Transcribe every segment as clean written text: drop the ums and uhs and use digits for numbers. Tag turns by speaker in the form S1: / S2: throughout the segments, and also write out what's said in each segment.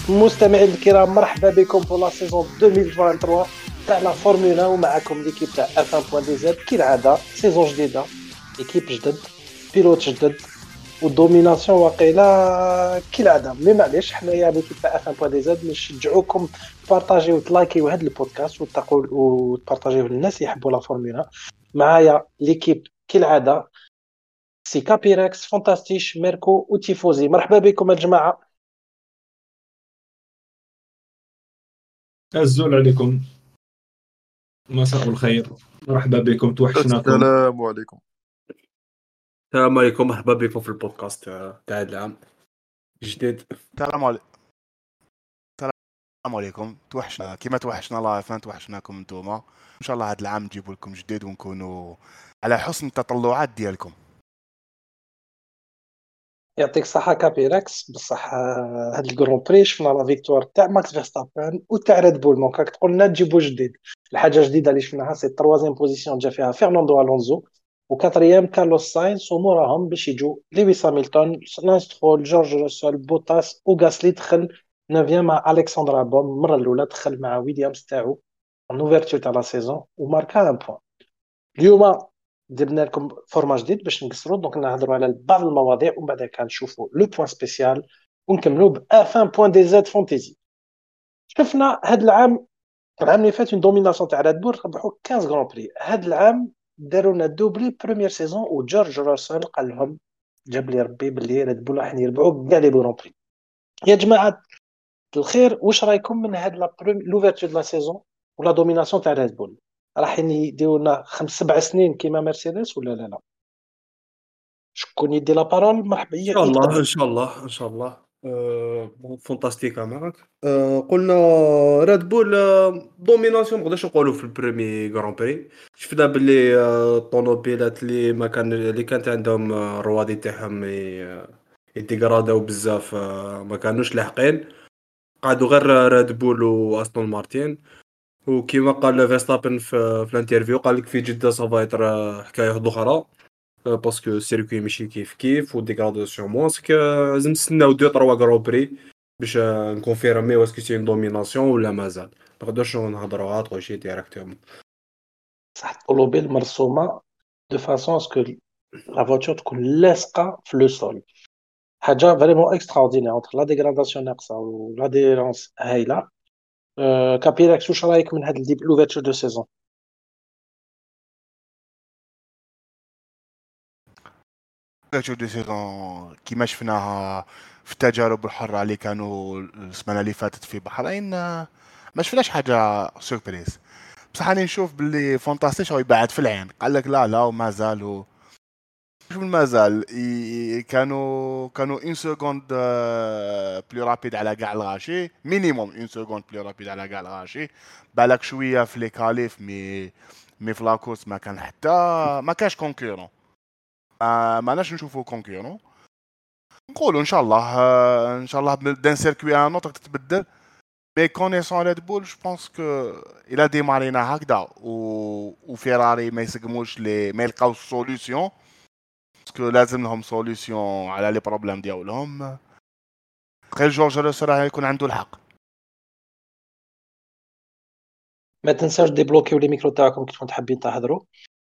S1: مستمعين الكرام، مرحبا بكم في لا سيزون 2023 تاع لا فورمولا، ومعكم ليكيب تاع F1.dz. كالعاده سيزون جديده، ايكيب جدد، بيلوت جدد، والدوميناسيون واقيلا كالعاده. مي معليش، حنايا ليكيب تاع F1.dz نشجعوكم تبارطاجيو وتلايكيو هذا البودكاست وتبارطاجيوه للناس اللي يحبوا لا فورمولا. معايا ليكيب كالعاده، سي كابيركس، فانتاستيش، ميركو وتيفوزي. مرحبا بكم الجماعه.
S2: الزول عليكم، مساء الخير، مرحبا بكم، توحشناكم.
S3: السلام عليكم.
S4: السلام عليكم، مرحبا بكم في البودكاست تاع العام جديد.
S3: السلام عليكم. توحشنا كيما توحشنا الله فان توحشناكم نتوما. ان شاء الله هذا العام نجيب لكم جديد ونكونوا على حسن التطلعات ديالكم.
S1: يعطيك الصحة كابيركس. بصح هاد الجرون بري شفنا لا فيكتوار تاع ماكس فيرستابان وتاع ريد بول، دونك راك تقول لنا تجيبو جديد. الحاجة الجديدة اللي شفناها سي التروازيام بوزيسيون جا فيها فرناندو الونزو، وكاتريام كارلوس ساينس، وموراهم باش يجو لويس هامilton، لانس سترول، جورج روسول، بوتاس، وغاسلي دخل 9 مع الكسندر البون. المرة الأولى دخل مع ويليامز تاعو ان اوفرتور تاع لا سيزون وماركا ان بوان. اليوم درنا لكم فورما جديد باش نقصروا، دونك نهضروا على بعض المواضيع ومن بعد كنشوفوا لو بوين سبيسيال ونكملوا ب F1.dz فانتيزي. شفنا هذا العام اللي فات اون دوميناسيون تاع ريد بول، ربحوا 15 غران بري. هذا العام داروا لنا دوبلي بروميير سيزون، وجورج راسل قال لهم جاب لي ربي باللي ريد بول راح يربحوا كاع لي غران بري. يا جماعه الخير، واش رايكم من هاد لوفرتور دو لا سيزون ولا دوميناسيون تاع ريد بول؟ راح يديروا لنا 5-7 سنين كيما مرسيدس ولا لا؟ شكون يدي لا بارول؟ مرحبا.
S4: ان شاء الله ان شاء الله ان شاء الله. فانتاستيكا معك. قلنا ريد بول دوميناسيون، ما نقدرش نقولوا في البريمي غران بري. شفنا باللي الطوموبيلات اللي كانت عندهم الروادي تاعهم يديغراداو بزاف، ما كانوش لاحقين، قعدوا غير ريد بول واستون مارتين. وكيما قال فيرستابن في الانترفيو، قال لك في جدة صافايتر حكايه اخرى، باسكو السيركوي ماشي كيف وديغراداسيون موسك. لازم نستناو 2-3 غرو بري باش نكونفيرمي واسكو سي دوميناسيون ولا مازال. ما نقدرش نهضروها تغوشي ديريكتومون.
S1: صح، الطوموبيل مرسومه دو فاسون اسكو لا فواتور تكون لاصقه في لو سول. حاجه فريمون اكسترا اوردينير اونتر لا ديغراداسيون ناقصه ولا ديرونس هايله. كابيراكس، واش رايك من هاد لوفرتور دو سيزون؟
S3: دي سيزون كيما شفناها في التجارب الحرة اللي كانوا السنة اللي فاتت في بحرين، ما شفناش حاجة سوربريز. بصح انا نشوف باللي فانتاستيش هو يبعد في العين، قال لك لا وما زالوا شوف المازال كانوا اون سكوند بلو رابيد على كاع الغاشي، مينيموم اون سكوند بلو رابيد على كاع الغاشي. بالك شويه في لي كاليف، مي في لاكورس ما كان حتى ما كاش كونكورون، ما ناش نشوفوا كونكورون. نقولوا ان شاء الله دان سيركوي ان اوتر تتبدل. مي كونيسون ريد بول جو بونس كو الى ديمارينا هكذا وفيراري ما يسقموش ما يلقاوش سوليسيون، باسكو لازم لهم سوليسيون على لي بروبليم ديالهم. غير جورج روسل راه يكون عنده الحق.
S1: ما تنساوش ديبلوكيو لي ميكرو تاعكم كي كنتو حابين تهضروا.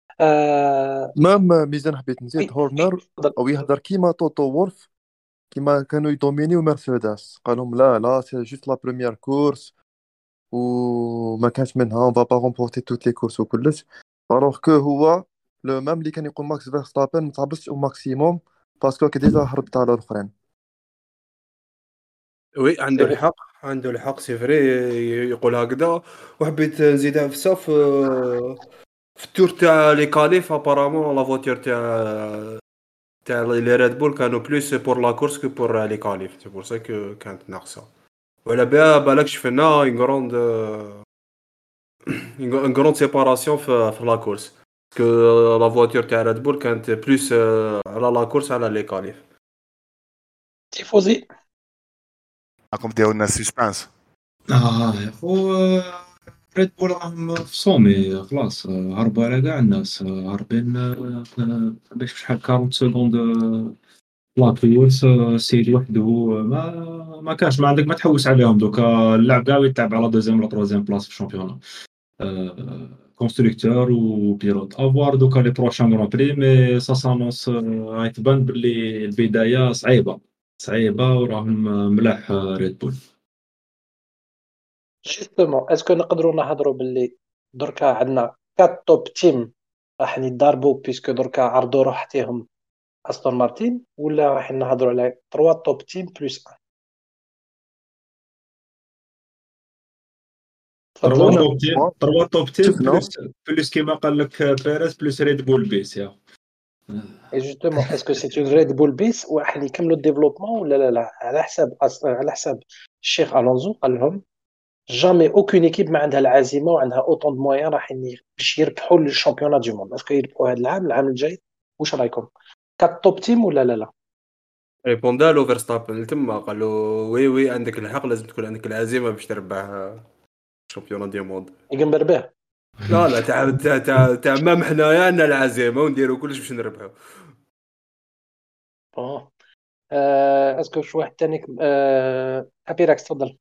S5: ميزان حبيت نزيد
S1: وي
S5: هورنر
S1: تفضل.
S5: او يهضر كيما توتو وولف، كيما كانوا يدومينيو مرسيدس، قالهم لا سي جوست لا بروميير كورس وما كانش منها اون با با رومبورتي توت لي كورس وكلش. الوغ كو هو لو ميم اللي كان يقول ماكس فيرستابن ما تعبسش او ماكسيموم باسكو كي ديجا هربت على الاخرين.
S4: وي
S1: سي فري.
S4: عنده الحق سي فري يقول هكذا. وحبيت نزيدها في ساف في التور تاع لي كاليف. ابارامون لا فواتور تاع لي ريد بول كانوا بلوس بور لا كورس كو بور لي كاليف، سي بور سا كو كانت ناقصه. ولا بها بالك شفنا اون غروند سيباراسيون في لا كورس، كو لا فواتور تاع ريد بول كانت بلوس على لا كورس على لي كاليف.
S1: تيفوزي.
S3: راكم ديروا لنا سسبانس.
S2: يا خو، ريد بول راهم في صومي خلاص، هربوا على كاع الناس، هاربين باش شحال 40 سكوند لا كورس السيد وحده ما كانش، ما عندك ما تحوس عليهم دوكا. اللاعب كاع يتلعب على دوزيام ولا تروزيام بلاص في الشامبيون، كونستركتور وبيلوت افوار دوكا لي بروشان غران بري. مي سا سانونس غيتبان باللي البدايه صعيبه وراهم ملاح ريد بول.
S1: جوستومون اسكو نقدروا نهضروا باللي دركا عندنا 4 توب تيم راح يتضاربوا بيسكو دركا عرضوا روحتهم استون مارتين، ولا راح نهضروا على 3 توب تيم بلس 1؟ تفضلوا.
S2: تروا توب تيم
S5: شفنا
S2: بلس كيما قال لك بيريز بلس ريد بول بيس يا.
S1: اي جوستومون اسكو سي اون ريد بول بيس وراح يكملوا الديفلوبمون ولا لا؟ على حساب الشيخ الونزو قال لهم جامي اوكين ايكيب ما عندها العزيمه وعندها اوطون دو مويان راح باش يربحوا الشامبيونات دو موند. اسكو يربحوا هذا العام الجاي؟ واش رايكم؟ كات توب تيم ولا لا؟
S4: ريبوندا له فيرستابن تما قال له وي عندك الحق، لازم تكون عندك العزيمه باش تربح الشامبيون دي موند.
S1: يقنبر به.
S4: لا تاع ما حنايا عندنا العزيمه ونديروا كلش باش نربحوا.
S1: اسكو شي واحد ثاني ابيراكس تفضل.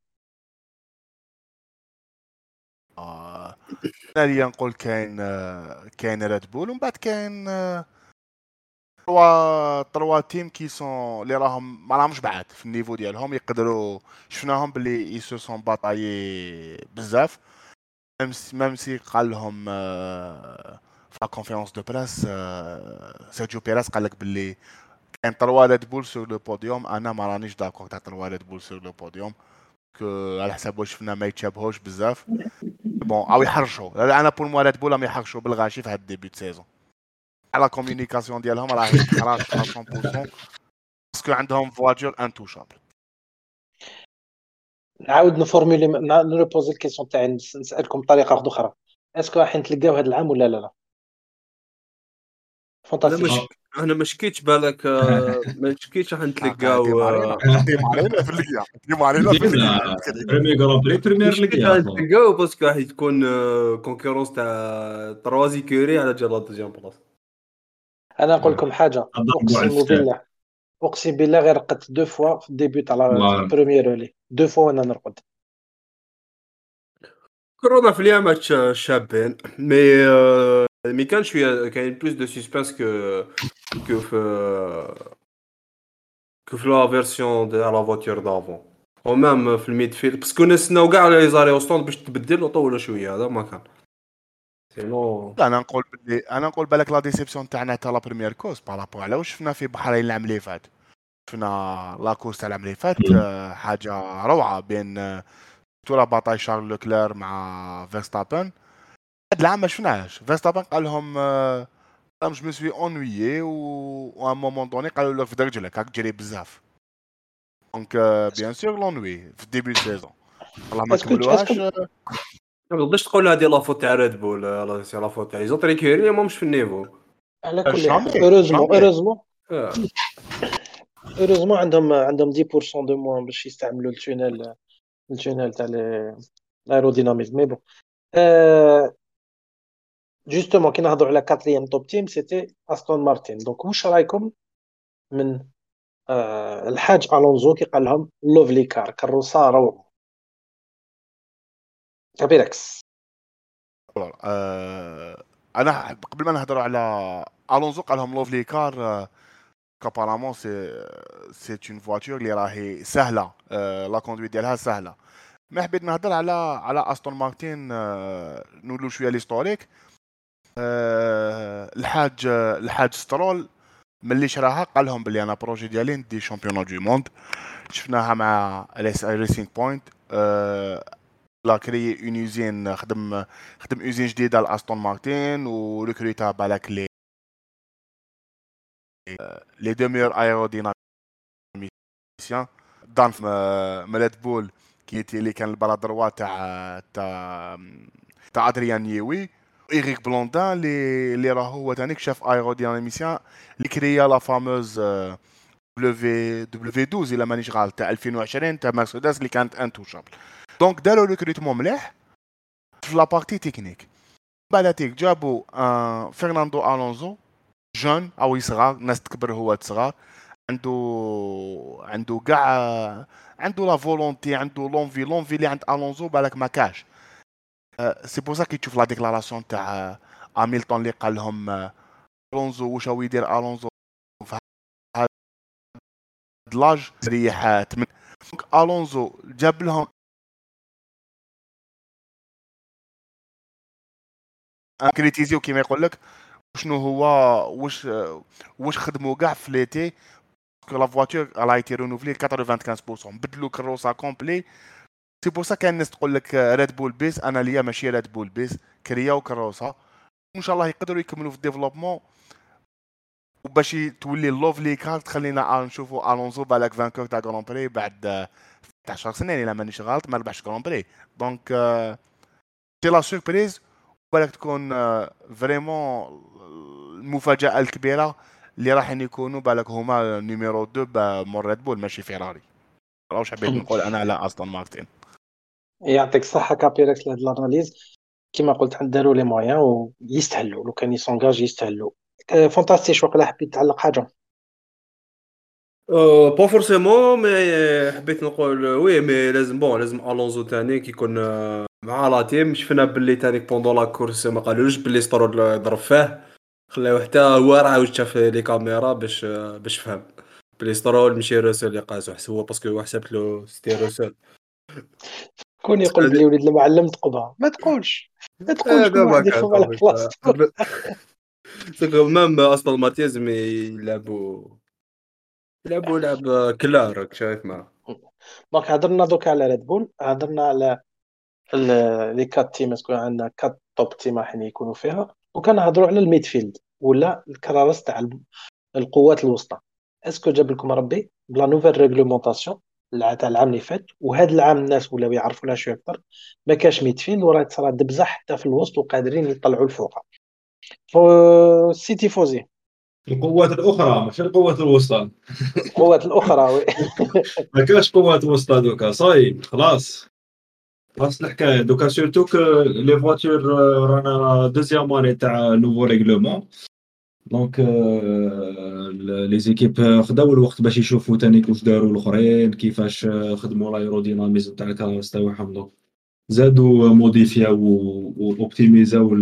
S3: انا اللي نقول كاين ريد بول، ومن بعد كاين تروا تيم كي سون اللي راهم ما راهمش بعاد في النيفو ديالهم، يقدروا شفناهم باللي يسو سون باتايي بزاف. ميم سي قال لهم في لا كونفيرونس دو بريس سيرجيو بيريز قال لك باللي كاين تروا ريد بول سور لو بوديوم. انا ما رانيش داكور تاع تروا ريد بول سور لو بوديوم، على حساب واش شفنا ما يتشابهوش بزاف. بون او يحرشوا، انا بور موا ريد بول راهم يحرشوا بالغاشي في هاد الديبي د سيزون. على كوميونيكاسيون ديالهم راهي تحرش 100% باسكو عندهم فواتور انتوشابل.
S1: نعاود نفورمولي نريبوزي الكيسيون تاعي، نسالكم بطريقه واحده اخرى. اسكو راح نتلقاو هذا العام ولا لا؟ فانتاستيك.
S4: انا ما شكيتش بالك ما شكيتش راح نتلقاو
S3: ديما علينا في الليغا، ديما علينا في الليغا.
S2: بريمير غران بري بريمير ليغا
S4: نتلقاو باسكو راح تكون كونكورونس تاع تروازي كوري على جال دوزيام بلاص.
S1: انا نقول لكم حاجه، اقسم بالله غير رقدت 2 فوا في الديبيوت على البريمير لي 2 فوا وانا نرقد.
S4: كورونا في اليوم شابين مي كان شويه كاين بلوس دو سسبانس في لا فيرسيون ديال لا فواتور دافون او ميم في الميد فيلد، باسكو نستناو كاع لي زاري اوستون باش تبدل وطولوا شويه. هذا ما كان سينو.
S3: لا انا نقول بالك لا ديسيبسيون تاعنا تاع لا بريمير كورس بارابور على واش شفنا في بحرين العام اللي فات. شفنا لا كورس تاع العام اللي فات حاجه روعه بين تولا باطاي شارل لوكلير مع فيرستابن. هاد العام ما شفناهاش. فيرستابن قال لهم جو مي سوي اونويي و ان مومون دوني قالوا له في درجلك راك تجري بزاف. دونك بيان سور لونوي في ديبي سيزون والله ما كملوهاش.
S4: ما تقدرش تقول هذه لا فوت تاع ريد بول، سي لا فوت تاع لي زوطري كيري ماهمش في النيفو.
S1: على كل حال اوروزمون عندهم 10% دو موان باش يستعملوا التونيل تاع الايروديناميزم. مي بون جوستومون كي نهضروا على 4 توب تيم سيتي استون مارتين. دونك واش رايكم من الحاج الونزو كي قال لهم لوفلي كار كروسا روعه؟ كابيركس.
S3: انا قبل ما نهضروا على الونزو قال لهم لوفلي كار كابارامون سي اون فواتور اللي راهي سهله، لا كوندويت ديالها سهله. ما حبيت نهضر على استون مارتين، نقولوا شويه ليستوريك. الحاج سترول ملي شراها قال لهم بلي انا بروجي ديالي ندي شامبيون دو موند. شفناها مع ريسينغ بوينت، لا كري اون يوزين، خدم يوزين جديده لاستون مارتين وريكروتا بالك لي دو ميور ايروديناميسيان دان ريد بول اللي كان البرا دروا تاع ادريان نيوي، إيريك بلوندان اللي راه هو ثاني شاف ايروديناميسيان اللي كريا لا فاموز دبليو 12 الا مانيش غلط تاع 2020 تاع مرسيدس اللي كانت انتوشابل. دونك داروا ريكروتمون مليح في لا بارتي تكنيك. بالاتيك جابوا فرناندو الونزو جون او صغار، ناس تكبر هو صغار، عنده كاع عنده لا فولونتي عنده لونفي اللي عند الونزو بالك ما كاش. سي بور سا كي تشوف لا ديكلاراسيون تاع هاميلتون اللي قال لهم الونزو واش هو يدير الونزو في هذا لاج ريح دونك الونزو جاب لهم كريتيزيو كيما يقول لك شنو هو واش خدموا كاع في ليتي que la voiture elle a été renouvelée 95%. بدلوا كروسا كومبلي. سي بور سا كان الناس تقول لك ريد بول بيس، انا ليا ماشي ريد بول بيس، كرياو كروسا ان شاء الله يقدروا يكملوا في الديفلوبمون وباش تولي اللوفلي كار تخلينا نشوفوا الونزو بالك فانكور تاع غران بري بعد 10 سنين الا مانيش غلط ما ربحش غران بري. دونك سي لا سوربريز بالك تكون فريمون المفاجاه الكبيره اللي راح يكونوا بالك هما نيميرو 2 مور ريد بول ماشي فيراري. واش حبيت نقول انا على استون مارتن.
S1: يعطيك الصحه كابيركس لهاد الاناليز. كما قلت عند داروا لي مويان ويستهلوا لو كان يسونجاج يستهلوا. فانتاستيك. واقيلا حبيت تعلق حاجه؟
S4: با فورسيمون مي حبيت نقول وي مي لازم الونزو تاني كيكون مع لا تيم. شفنا باللي تاني بوندون لا كورس ما قالوش باللي سترول ضرب فيه، خلاو حتى هو راه واش شاف لي كاميرا باش فهم بلي سترول ماشي روسل اللي قاسو حسبوا باسكو هو حسبت له ستي روسل.
S1: كون يقول بلي وليد المعلم تقبها ما تقولش كل واحد يفهم على بلاصتو.
S4: سكو مام اصلا ماتيز مي يلعبوا لعب كلار شايف معاه.
S1: دونك هضرنا دوك على ريد بول، هضرنا على لي كات تيم. اسكو عندنا كات توب تيم راح يكونوا فيها، وكنهضروا على الميدفيلد ولا الكرارس تاع القوات الوسطى. اسكو جاب لكم ربي بلا نوفيل ريغلومونطاسيون تاع العام اللي فات وهذا العام الناس ولاو يعرفوا لها شويه اكثر، ما كاش ميدفيلد وراه تصرا دبزه حتى في الوسط وقادرين يطلعوا الفوق. سيتي فوزي
S2: القوات الاخرى ماشي القوات الوسطى.
S1: القوات الاخرى وي.
S2: ما كاش قوات وسطى دوكا صاي خلاص الحكايه دوكا سورتو ك لي فواتور رانا دوزيام اني تاع نوفو ريغلومون. دونك لي زيكيب خداو الوقت باش يشوفوا تاني واش داروا الاخرين كيفاش خدموا الايروديناميزم تاع الكراس تاعهم. دونك زادوا موديفياو واوبتيميزاو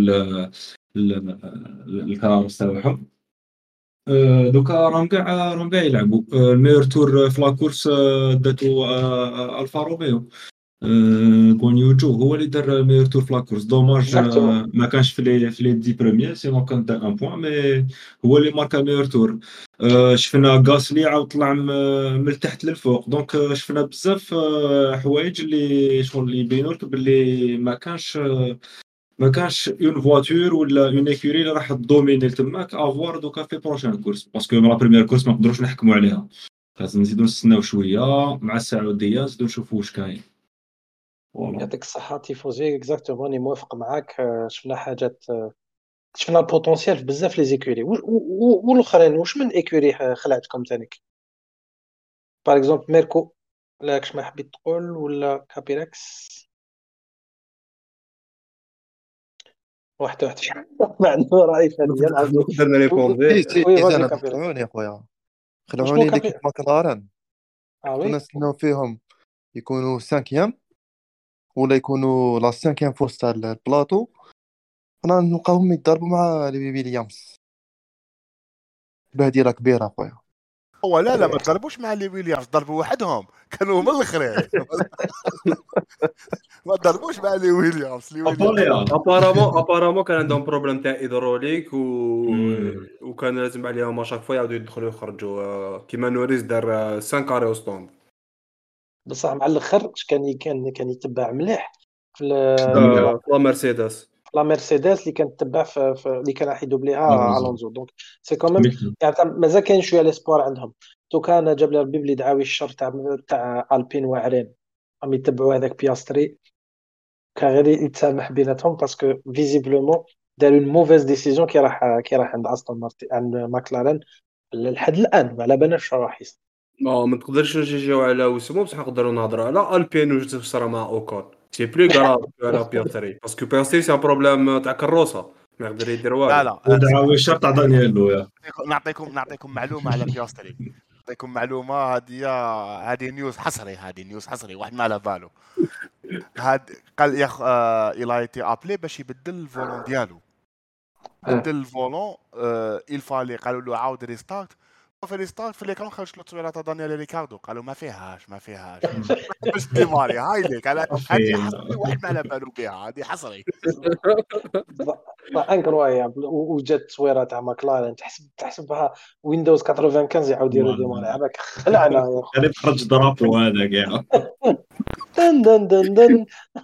S2: الكراس تاعهم. دوكا راهم كاع يلعبوا الميور تور في لاكورس داتو الفا روميو. غونيوجو هو اللي دار ميور تور في لاكورس. دوماج ما كانش في لي 10 بروميير سينو كان دار ان بوين مي هو اللي ماركا ميور تور. شفنا غاسلي عاود طلع من التحت للفوق. دونك شفنا بزاف حوايج اللي شغل يبينوا لك باللي ما كانش اون فواتور ولا اون ايكوري اللي راح تدوميني تماك افوار دوكا في بروشان كورس باسكو لا بريمير كورس ما نقدروش نحكموا عليها. لازم نزيدو نستناو شويه مع السعوديه نزيدو نشوفوا واش كاين.
S1: يعطيك الصحه تيفوزي اكزاكتومون راني موافق معاك. شفنا حاجات، شفنا البوتونسيال في بزاف لي زيكوري والاخرين. واش من ايكوري خلعتكم تانيك باغ اكزومبل ميركو لاكش ما حبيت تقول ولا كابيركس؟ واحد ما عنده راي فنيا.
S4: نقدر نريبوندي
S5: انا خلعوني يا خويا، خلعوني ليكيب ماكلارن. كنا نستناو فيهم يكونوا 5 ولا يكونوا لا 5 فورس تاع البلاطو، انا نلقاهم يضربوا مع لي ويليامز. بهديره كبيره خويا.
S3: هو لا ما ضربوش مع لي ويليامز، ضربوا وحدهم كانوا هما الاخرين. ما ضربوش مع لي ويليامز.
S4: ابارامون كان عندهم بروبليم تاع ايدروليك وكان لازم عليهم شاك فوا يعاودوا يدخلوا يخرجوا كيما نوريس دار 5 كاري او ستوند.
S1: بصح مع الاخر كان يتبع مليح في
S4: لا مرسيدس
S1: اللي كانت تتبع في اللي كان راح يدوبليها الونزو. دونك سي كوميم يعني مازال كاين شويه ليسبوار عندهم. تو كان جاب لي ربي بلي دعاوي الشر تاع البين واعرين راهم يتبعوا هذاك بياستري كان غير يتسامح بيناتهم باسكو فيزيبلومون داروا اون موفيز ديسيزيون كي راح عند استون مارتن عند ماكلارين لحد الان ما على بالناش راح يصير.
S4: ما تقدرش نجيو على وسمو بصح نقدروا نهضروا على البين وجدت صرا مع اوكون سي بلو غراف على بياستري باسكو بياستري سي بروبليم تاع كروسه ما يقدر يدير والو.
S3: لا
S2: ودعاوي الشر تاع دانييلو.
S3: نعطيكم معلومه على بياستري. نعطيكم معلومه هذه نيوز حصري، هذه نيوز حصري واحد ما على باله. هاد قال يا الى ايتي ابلي باش يبدل الفولون ديالو، بدل الفولون الفالي قالوا له عاود ريستارت، في ريستارت في ليكرون خرجت له تصويره تاع دانيال ريكاردو، قالوا ما فيهاش باش ديماري هاي ليك على هذه حصري واحد ما على بالو بها، هذه حصري
S1: انكرويابل. وجات التصويره تاع ماكلارين تحسبها ويندوز 95 يعاود يديروا ديماري عباك خلعنا يا
S2: هذا خرج درابو هذا كاع.
S1: دن دن دن دن.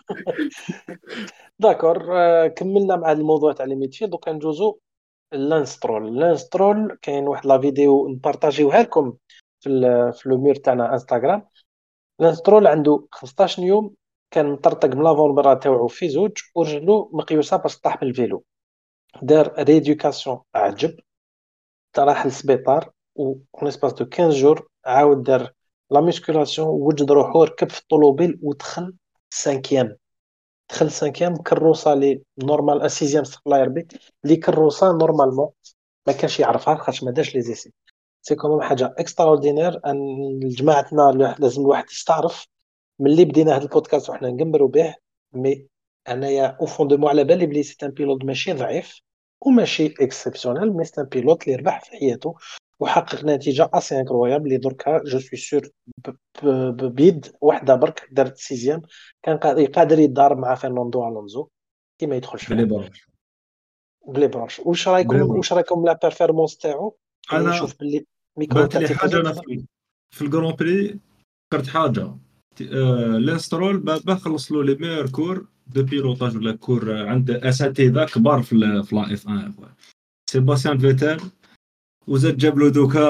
S1: داكور، كملنا مع الموضوع تاع لي ميتي. دوك ندوزو لانسترول. كاين واحد لا فيديو نبارطاجيوها لكم في لو مير تاعنا انستغرام. لانسترول عنده 15 يوم كان مطرطق من لافونبرا تاعو في زوج ورجلو مقيوسه باش طاح من الفيلو. دار ريديوكاسيون عجب، راح للسبيطار و اسباس دو 15 جور عاود دار لا ميسكولاسيون وجد روحو ركب في الطوموبيل ودخل سانكيام. دخل سانكيام كروسه لي نورمال سيزيام استغفر الله يربي لي كروسه نورمالمون ما كانش يعرفها خاطش ما داش لي زيسي. سي كومون حاجه اكسترا اوردينير ان جماعتنا لازم الواحد يستعرف ملي بدينا هذا البودكاست وحنا نقمروا به. مي انايا او فون دو مو على بالي بلي سي ان بيلوت ماشي ضعيف وماشي اكسبسيونيل، مي سي ان بيلوت اللي ربح في حياته وحقق نتيجه اسي انكرويابل اللي دركا جو سوي سور بيد واحده برك دارت سيزيام. كان قادر يدار مع فرناندو الونزو كي ما يدخلش
S2: بلي
S1: فيه
S2: برونش
S1: بلي برانش. واش
S2: بلي
S1: رايكم
S2: برونش.
S1: لا بيرفورمانس تاعو؟ كاين
S2: انا
S1: نشوف باللي ميكرو
S2: بانت
S1: تاع
S2: لي حاجه
S1: تيفوزو
S2: انا في الجران بري فكرت حاجه. لانسترول بابا خلص له لي ميور كور دو بيلوتاج ولا كور عند اساتذه كبار في لا اف 1 سيباستيان فيتال، وزاد جاب له دوكا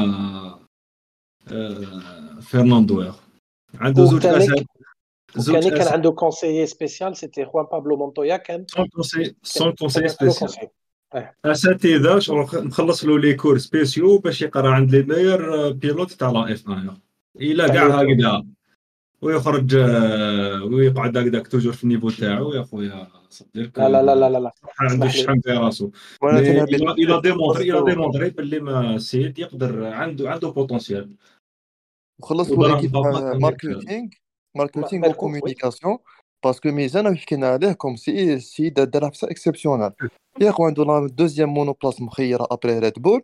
S2: فرناندو يا اخو. عنده زوج اساتذه
S1: وكان كان عنده كونسيي سبيسيال سيتي خوان بابلو مونتويا. كان
S2: سون كونسي
S1: له
S2: سبيسيال
S1: كونسي.
S2: اساتذه مخلص له لي كور سبيسيو باش يقرا عند لي ميور بيلوت تاع لا اف 1 الى كاع هكذا ويخرج ويقعد هكذاك توجور في النيفو تاعو يا خويا صديق.
S1: لا لا لا لا لا
S2: عنده الشحم في راسو. الى ديمونطري باللي ما سيد يقدر عنده بوتونسيال.
S5: وخلص له ايكيب ماركتينغ وكومونيكاسيون باسكو ميزان وحكينا عليه كوم سي دار حفصه اكسبسيونال. يا خو عنده لا دوزيام مونوبلاس مخيره ابري ريد بول.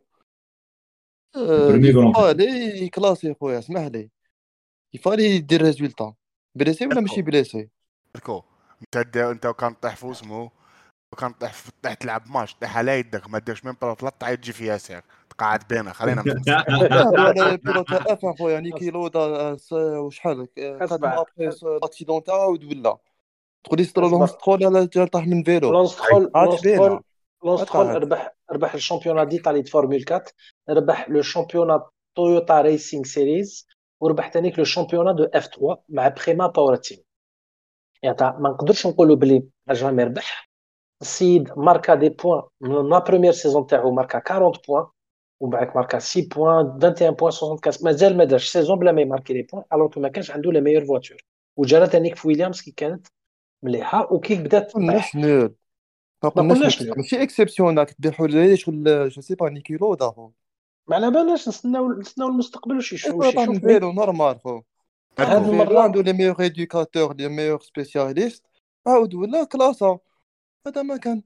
S5: يفالي كلاسي خويا اسمح لي يفالي يدير ريزولتا بليسي ولا ماشي بليسي.
S3: انت كان طيح في اسمه وكان طيح تلعب ماتش طيح على يدك ما داش من بلا طلع تجي في ياسر تقعد بينا خلينا
S5: ولا بيلوت اف خويا يعني كيلو دا وشحال قد ما ابري اكسيدون تاعو ولا تقولي سترول لا طاح من فيلو.
S1: لونسترول ربح الشامبيونات ديتالي فورمول 4، ربح لو شامبيونات تويوتا ريسينغ سيريز، وربح ثاني لو شامبيونات دو اف 3 مع بريما باور تيم. يعني ما نقدرش نقولوا بلي جامي ربح. السيد ماركا دي بوين من لا بروميير سيزون تاعو، ماركا 40 بوين ومن بعد ماركا 6 بوين 21 بوين 64. مازال ما دارش سيزون بلا ما يماركي لي بوين الوغ ما كانش عنده لا ميور فواتور. وجرى ثاني في ويليامز كي كانت مليحه وكي بدات
S5: تطيح. ما قلناش ماشي اكسبسيونال تدير حل شغل جو سي با نيكي لودا خو.
S1: ما على بالناش نستناو المستقبل واش يشوف
S5: فيلو نورمال خو. هذه المره عنده لي ميور ايدوكاتور لي ميور سبيسياليست عاود ولا كلاسه. هذا ما كان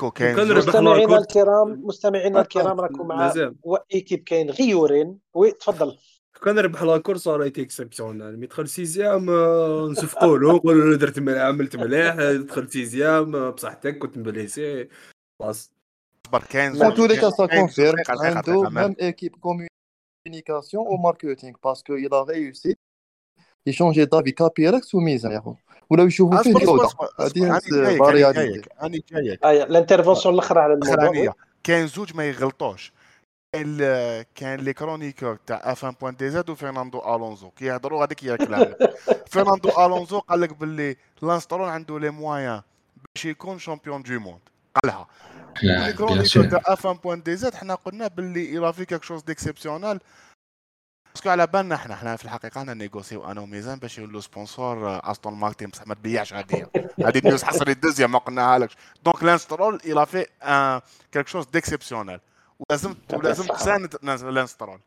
S5: مستمعينا الكرام راكم مع ايكيب كاين غيورين. وي تفضل.
S4: كان ربح لا كورس رايت اكسبسيونال ميدخل سيزيام نصفقوا له نقولوا له درت مليح عملت مليح دخل سيزيام بصحتك كنت مبليسي خلاص
S5: كان تو لي كاسا كونفيرم عنده ميم ايكيب كومونيكاسيون و ماركتينغ باسكو يلا ريوسي يشونجي دافي كابيركس وميزان يا خو ولا يشوفوا فيه جوده. هذه فاريابيليتي
S3: اني جايك
S1: الانترفونسيون الاخرى على الموضوع.
S3: كاين زوج ما يغلطوش. كان لي كرونيكور تاع اف 1 بوين دي زاد وفرناندو الونزو كيهضروا هذيك هي الكلام. فرناندو الونزو قال لك باللي لانسترول عنده لي مويان باش يكون شامبيون دو موند قالها. لي كرونيكور تاع اف 1 بوين دي زاد حنا قلنا باللي الى في كيك شوز ديكسيبسيونال باسكو على بالنا حنا في الحقيقه انا نيغوسيو انا وميزان باش يولو سبونسور استون مارتين بصح ما تبيعش هذه نيوز حصري الدوزيام ما قلناها لكش. دونك لانسترول الى في كيك شوز ديكسيبسيونال ولازم تساند لانسترول.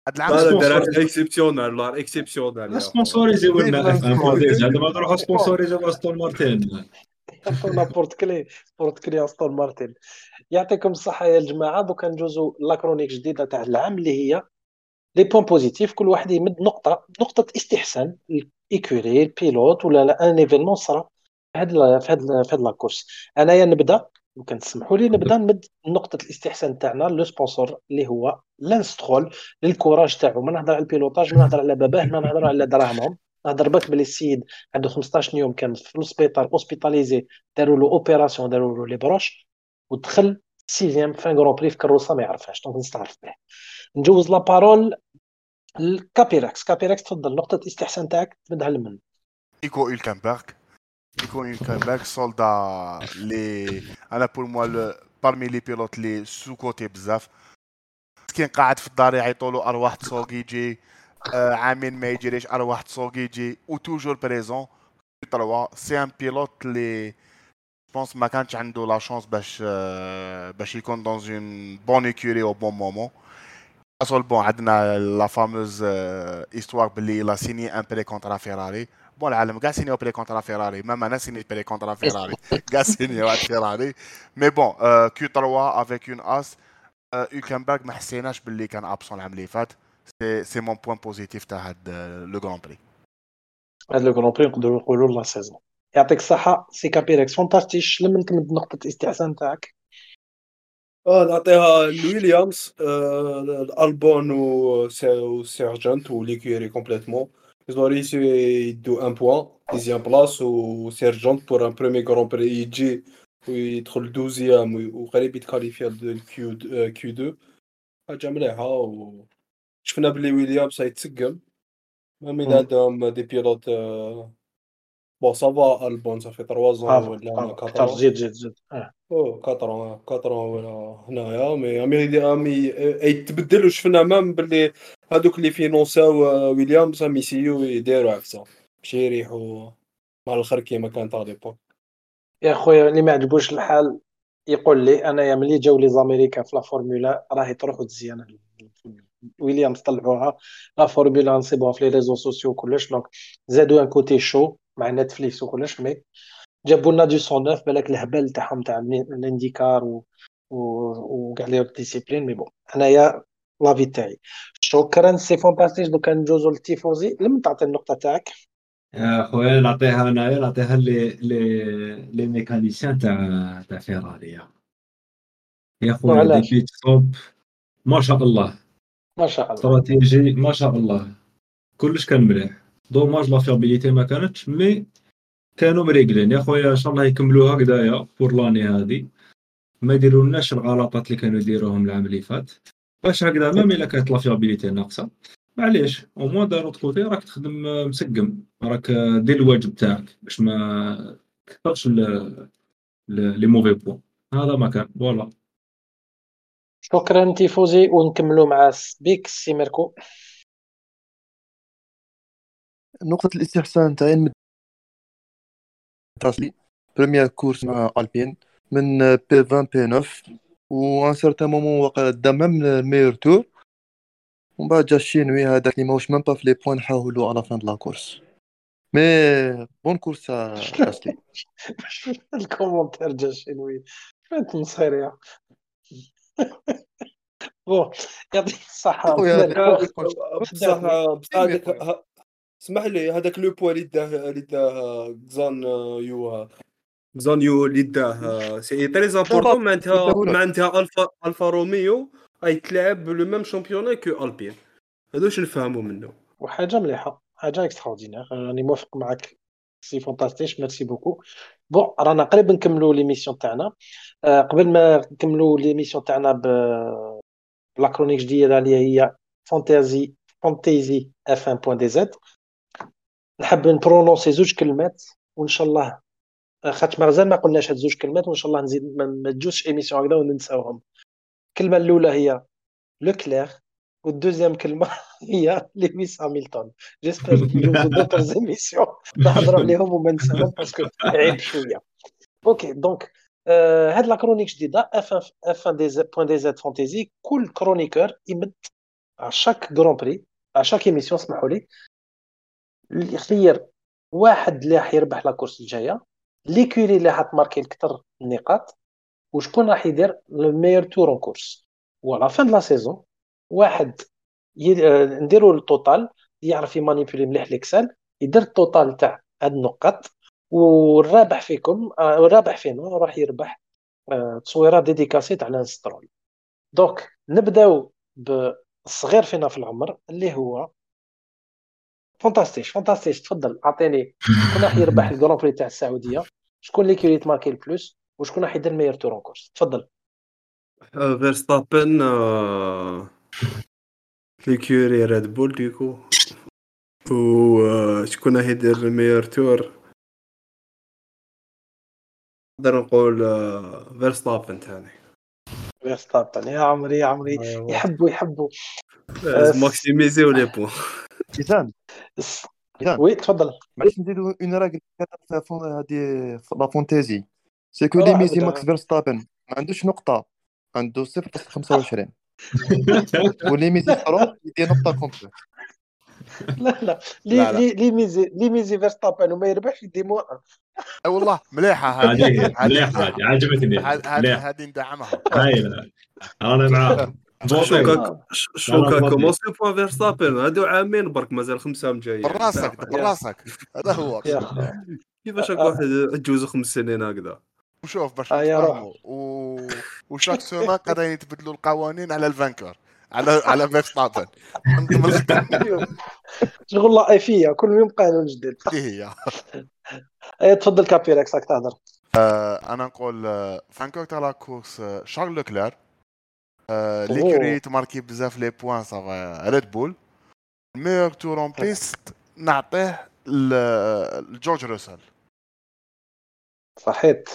S3: هاد
S4: لا
S3: العام
S4: لا دارها
S2: سبونسور
S4: اكسبسيونال لا اكسبسيونال يا
S2: سبونسوريزي ولنا اف 1 بوان دي زاد ما نروحو
S1: بون
S2: سبونسوريزي باستون مارتين.
S1: عطونا بورت كلي استون مارتن. يعطيكم الصحه يا الجماعه. دوكا ندوزو لا كرونيك جديده تاع العام اللي هي لي بوين بوزيتيف. كل واحد يمد نقطه استحسان الايكوري البيلوت ولا لا ان ايفينمون صرا في هاد لا كورس. انايا نبدا، ممكن تسمحوا لي نبدا نمد نقطه الاستحسان تاعنا لو سبونسور اللي هو لانسترول للكوراج تاعو. ما نهضر على البيلوتاج، ما نهضر على باباه، ما نهضر على دراهمهم. نهضر بك بلي السيد عنده 15 يوم كان في السبيطار اوسبيتاليزي، داروا له اوبيراسيون، داروا له لي بروش، ودخل سيزيام فان غران بري في كروسه ما يعرفهاش. دونك نستعرف به. نجوز لا بارول لكابيراكس. كابيراكس تفضل، نقطه الاستحسان تاعك تمدها لمن؟
S3: Nico Hülkenberg. Nico Hülkenberg, soldat, pour moi, parmi les pilotes, les sous-côtés bzaf. كان قاعد في الدار يعيطوا له ارواح تسوقيجي، عامين ما يجريش ارواح تسوقيجي وتوجور بريزون. 3 سي ان بيلوت اللي بونس ما كانش عنده لا شانس باش يكون دون اون بون ايكوري او بون مومون. اصل بون عندنا لا فاموز استوار باللي لا سيني ان بري كونترا فيراري. بون العالم كاع سينيو بري كونترا فيراري، مام انا سيني بري كونترا فيراري كاع سينيو واحد فيراري. مي بون كيو 3 افيك اون اس. هولكنبرغ ما حسيناش باللي كان ابسون العام اللي فات. سي مون بوين بوزيتيف تاع هاد لو غران بري.
S1: هذا لو غران بري نقدروا نقولوا لا سيزون. يعطيك الصحه سي كابيركس، فانتاستيش. لمن تمد نقطه الاستحسان تاعك؟
S4: نعطيها لويليامز، الالبون وسيرجنت وليكيري كومبليتمون. Ils ont réussi يدو ان بوان ديزيام بلاص، وسيرجنت بور ان بروميي غران بري يجي ويدخل دوزيام وقريب يتكاليفيا الكيو كيو 2. حاجه مليحه. وشفنا بلي ويليامز يتسقم، مام اذا عندهم دي بيلوت. بون سافا البون صافي 3 زون ولا هنا
S1: اكثر.
S4: 4
S1: زيد.
S4: او 4 ولا هنايا. مي يتبدل. وشفنا مام باللي هادوك اللي فينونساو ويليامز راهم يسيو يديروا عفسه باش يريحوا مع الاخر كيما كانت على ليبوك.
S1: يا خويا اللي ما عجبوش الحال يقول لي انايا ملي جاو لي زاميريكان في لا فورمولا راهي تروح وتزيان. ويليامز طلعوها لا فورمولا نصيبوها في لي ريزو سوسيو كلش. دونك زادوا ان كوتي شو مع نتفليكس وكلش. مي جابوا لنا دو 109 بالك الهبل تاعهم تاع الانديكار وكاع لي ديسيبلين. مي بون انايا لافي تاعي شكرا سي فانتاستيك. دوكا ندوزو للتيفوزي. لما تعطي النقطه تاعك؟
S2: يا خويا نعطيها انايا، نعطيها لي ميكانيسيان تاع فيراري. يا خويا دي
S1: وعلاش؟
S2: بيت ستوب ما شاء الله،
S1: ما شاء الله.
S2: استراتيجي ما شاء الله، كلش كان مليح. دوماج لا فيابيليتي ما كانتش، مي كانوا مريقلين. يا خويا ان شاء الله يكملوا هكذايا بور لاني هادي، ما يديرولناش الغلطات اللي كانوا يديروهم العام اللي فات. باش هكذا ميم الا كانت لا فيابيليتي ناقصه معليش، او موان داروت كوتي راك تخدم مسقم، راك دير الواجب تاعك باش ما تكثرش لي موفي بوان. هذا ما كان فوالا.
S1: شكرا تيفوزي. ونكملوا مع سبيك سي ميركو.
S5: نقطة الاستحسان تاعي تاسلي بروميير كورس مع البين من بي 20 بي 9، و ان سارتان مومون واقع دا ميم الميور تور، ومن بعد جا الشينوي هذاك اللي ماهوش ميم با في لي بوين نحاولوا على فان د لا كورس. مي بون كورس تاسلي.
S1: الكومنتير جا شنوي فانت مصيرية. بون يعطيك الصحة
S5: خويا
S1: ميركو.
S4: بصح
S1: خدعتني.
S4: اسمح لي، هذاك لو بوان اللي داه زان يو اللي داه سي تري امبورطون. معناتها الفا روميو تلعب لو ميم شامبيوني كو البين. هادوش نفهموا منه.
S1: وحاجة مليحة، حاجة اكستراوردينير. راني موافق معك سي فانتاستيش. ميرسي بوكو. بون رانا قريب نكملوا ليميسيون تاعنا. قبل ما نكملوا ليميسيون تاعنا بلا كرونيك جديدة اللي هي فانتازي اف 1 بوان دي زد، نحب نبرونونسي زوج كلمات وان شاء الله، خاطر مازال ما قلناش هاد زوج كلمات، وان شاء الله نزيد ما تجوش ايميسيون هكذا وننساوهم. الكلمة الأولى هي لو كلير، والدوزيام كلمة هي لويس هامilton. جيسبر نجوزو دوطر زيميسيون نهضروا عليهم وما نساوهم باسكو عيب شوية. اوكي دونك هاد لا كرونيك جديدة اف 1 دي زد بوان دي زد فانتيزي. كل كرونيكور يمد شاك غران بري شاك ايميسيون اسمحوا لي يخير واحد اللي راح يربح لا كورس الجايه ليكوري اللي حتماركي اكثر النقاط وشكون راح يدير لو ميور تور اون كورس وعلى فان لا سيزون واحد نديروا التوتال يعرف يمانيبيولي مليح ليكسل يدير التوتال تاع هاد النقاط والرابح فيكم الرابح فينا راح يربح تصويره ديديكاسي تاع الانسترول. دونك نبداو بالصغير فينا في العمر اللي هو فانتاستيش تفضل اعطيني شكون راح يربح الجران بري تاع السعوديه شكون اللي كيريت ماركي البلوس وشكون راح يدير ميور تور اون كورس تفضل.
S4: فيرستابن ليكوري ريد بول ديكو وشكون راح يدير الميور تور نقدر نقول فيرستابن ثاني
S1: فيرستابن يا عمري يحبوا
S4: ماكسيميزي لي بوين.
S5: ميزان
S1: وي تفضل.
S5: معليش نزيدو اون راجل هادي لا فونتازي سي كو لي ميزي ماكس فيرستابن ما عندوش نقطه عنده 0.25 ولي ميزي فرون يدير نقطه كومبليت.
S1: لا
S3: لا.
S1: لي ميزي فيرستابن وما يربحش يدي مو
S3: اي والله مليحه
S2: هذه مليحه عجبتني
S3: هذه ندعمها.
S2: هايله انا معاك.
S4: شوكا كومونسي بوان فيرستابن هادو عامين برك مازال 5 عام جايين
S3: براسك هذا هو
S4: كيفاش واحد يتجوز 5 سنين هكذا.
S3: وشوف باش نفهموا وشاك سومان قاعدين يتبدلوا القوانين على الفانكور على فيرستابن
S1: شغل لايفيه كل يوم قانون جديد.
S3: هي
S1: تفضل كابيركس راك تهضر.
S3: انا نقول فانكور تاع لا كورس شارل لوكلير ليكوري تماركي بزاف لي بوين صافا ريد بول ميور تور اون بيست نعطيه لجورج روسل.
S1: صحيت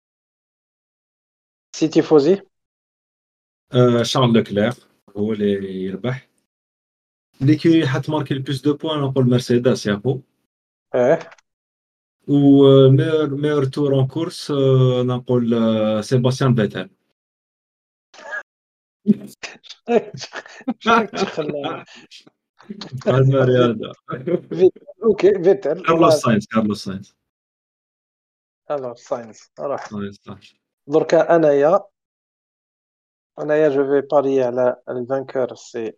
S1: سيتي فوزي
S2: شارل لوكلير هو اللي يربح. ليكي حتماركي البلوس دو بوين نقول مرسيدس يا خو. و ميور تور اون كورس نقول سيباستيان فيتل.
S1: تخلى
S2: الرياضه
S1: اوكي فيتل
S2: كارلوس ساينز
S1: الو ساينس راح
S2: صح.
S1: دركا انايا جو في باري على الفانكور سي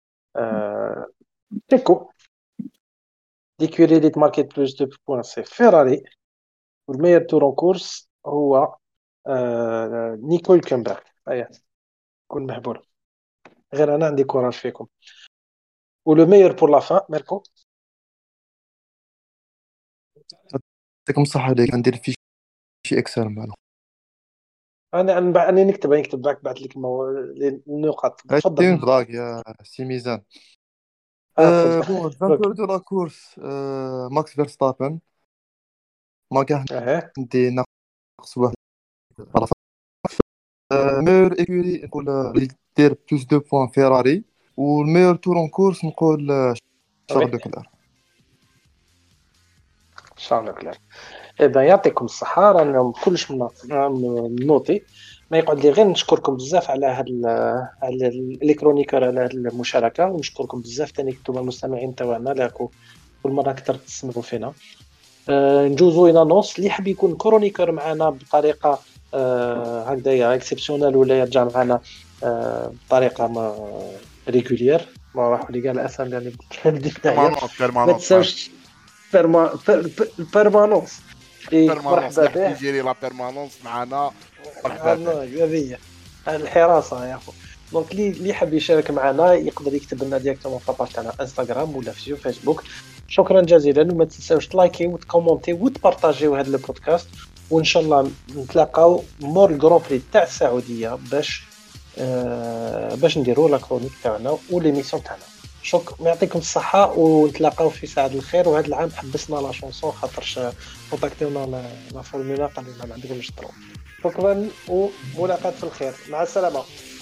S1: تيكو ليكوري اللي تماركيت بلوس دو بوين سي فيراري والميور تور اون كورس هو نيكول كمبر. اييه كون محبور غير انا عندي كوراج فيكم. ولو ميور بور لا فان ميركو
S5: يعطيكم الصحه عليك ندير في شي اكسل معنا
S1: انا نكتب باك بعث لك النقاط. تفضل
S5: دراك يا سي ميزان. بون فانكور دو لا كورس ماكس فيرستابن ما كان ندي ناقص واحد ميور ايكوري نقول اللي دير بلوس دو بوين فيراري والميور تور اون كورس نقول شارل لوكلير.
S1: اذا يعطيكم الصحه رانا كلش نوتي ما يقعد لي غير نشكركم بزاف على على الالكترونيكر على هذه المشاركه ونشكركم بزاف ثاني كنتم المستمعين تاعنا لاكو كل مره اكثر تسمعوا فينا. نجوزو الى نص اللي يحب يكون كرونيكر معنا بطريقه هكذايا اكسبسيونال ولا يرجع معنا بطريقه ما ريغولير ما راح لي قال الاسم يعني ما تساوش بيرمانونس مرحبا به
S3: يجري لا بيرمانونس معنا مرحبا
S1: هذه الحراسه يا اخو. دونك اللي يحب يشارك معنا يقدر يكتب لنا ديريكتومون في الباج تاعنا انستغرام ولا في فيسبوك. شكرا جزيلا وما تنساوش تلايكي وتكومونتي وتبارطاجيو هذا البودكاست وان شاء الله نتلاقاو مور الجران بري تاع السعوديه باش نديروا لا كرونيك تاعنا وليميسيون تاعنا. شكرا يعطيكم الصحه ونتلاقاو في ساعه الخير. وهذا العام حبسنا لا شونسون خاطرش كونتاكتيونا لا فورمولا قالوا لنا ما عندكمش طرو. شكرا وملاقات في الخير مع السلامه.